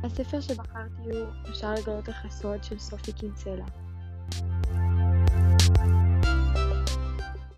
הספר שבחרתי הוא "אפשר לגלות לך הסוד" של סופי קינצלה.